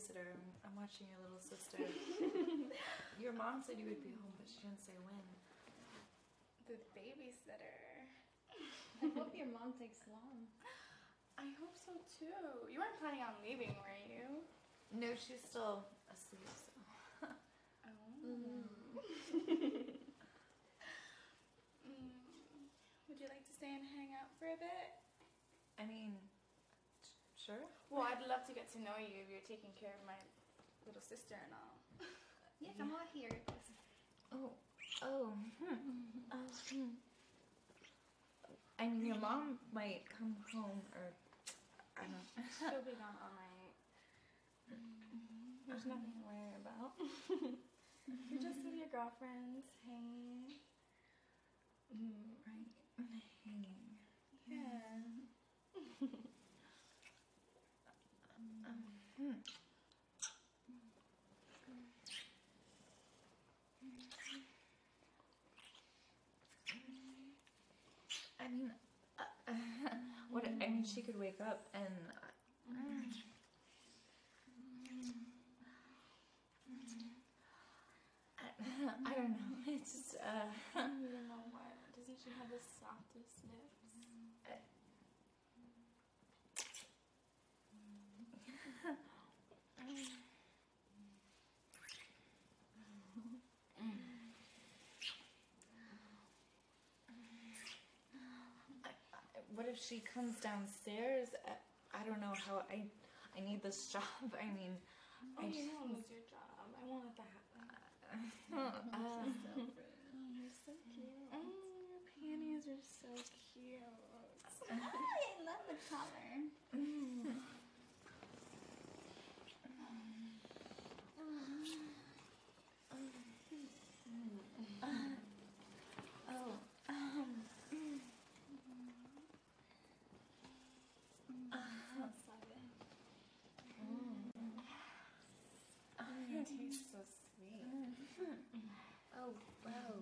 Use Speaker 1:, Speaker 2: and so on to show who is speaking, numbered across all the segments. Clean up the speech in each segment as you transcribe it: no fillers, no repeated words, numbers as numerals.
Speaker 1: babysitter. I'm watching your little sister. Your mom said you would be home, but she didn't say when.
Speaker 2: The babysitter.
Speaker 3: I hope your mom takes long.
Speaker 2: I hope so too. You weren't planning on leaving, were you?
Speaker 1: No, she's still asleep, so.
Speaker 2: Would you like to stay and hang out for a bit?
Speaker 1: I mean, sure.
Speaker 2: Well, I'd love to get to know you if you're taking care of my little sister and all.
Speaker 3: Yes, I'm all here.
Speaker 1: I mean, your mom might come home, or I don't know.
Speaker 2: She'll be gone all night. There's nothing to worry about. You're just with your girlfriends, hanging.
Speaker 1: Right. Hanging.
Speaker 2: Yeah.
Speaker 1: I mean, what? I mean, she could wake up and. I don't know. It's just.
Speaker 2: You don't know what? Doesn't she have the softest lips?
Speaker 1: What if she comes downstairs? I don't know how I need this job. I mean,
Speaker 2: You won't lose your job. I won't let that happen.
Speaker 3: You're so cute.
Speaker 2: Your panties are so cute.
Speaker 3: I love the color.
Speaker 2: It tastes so sweet.
Speaker 1: Oh wow.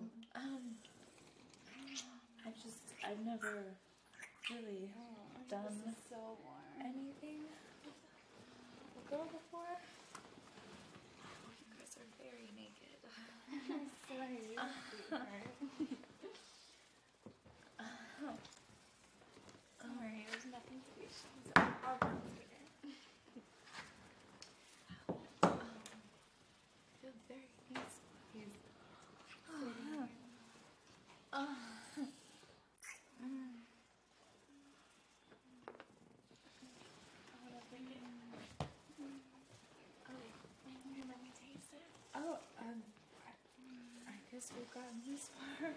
Speaker 1: I've never really done
Speaker 2: This is so warm.
Speaker 1: anything with a girl before. You guys are very naked.
Speaker 2: I'm sorry, sweetheart. Don't worry, there's nothing to be ashamed of. I'll go later.
Speaker 1: I feel very peaceful.
Speaker 2: Let me taste it.
Speaker 1: I guess we've gotten this far.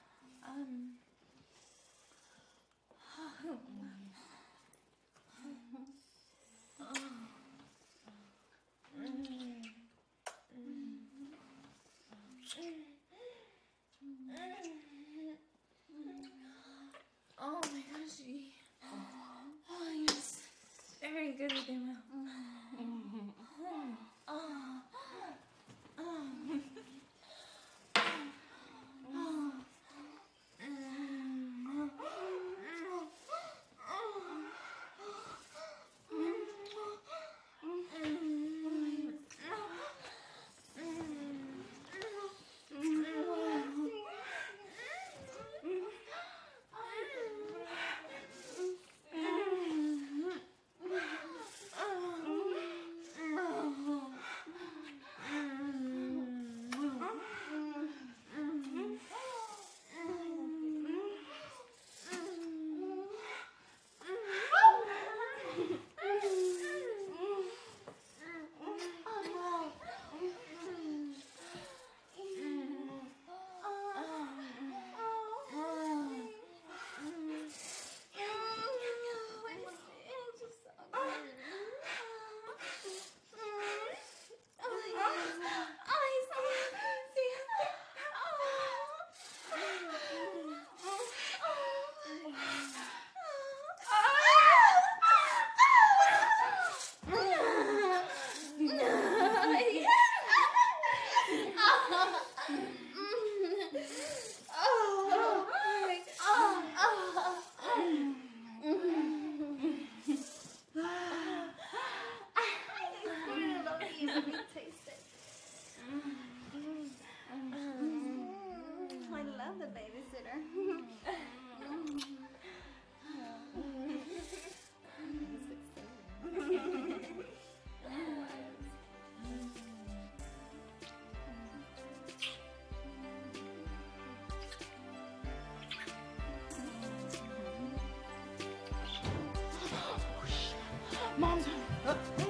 Speaker 1: Oh my gosh, you're just very good with your mouth. Oh,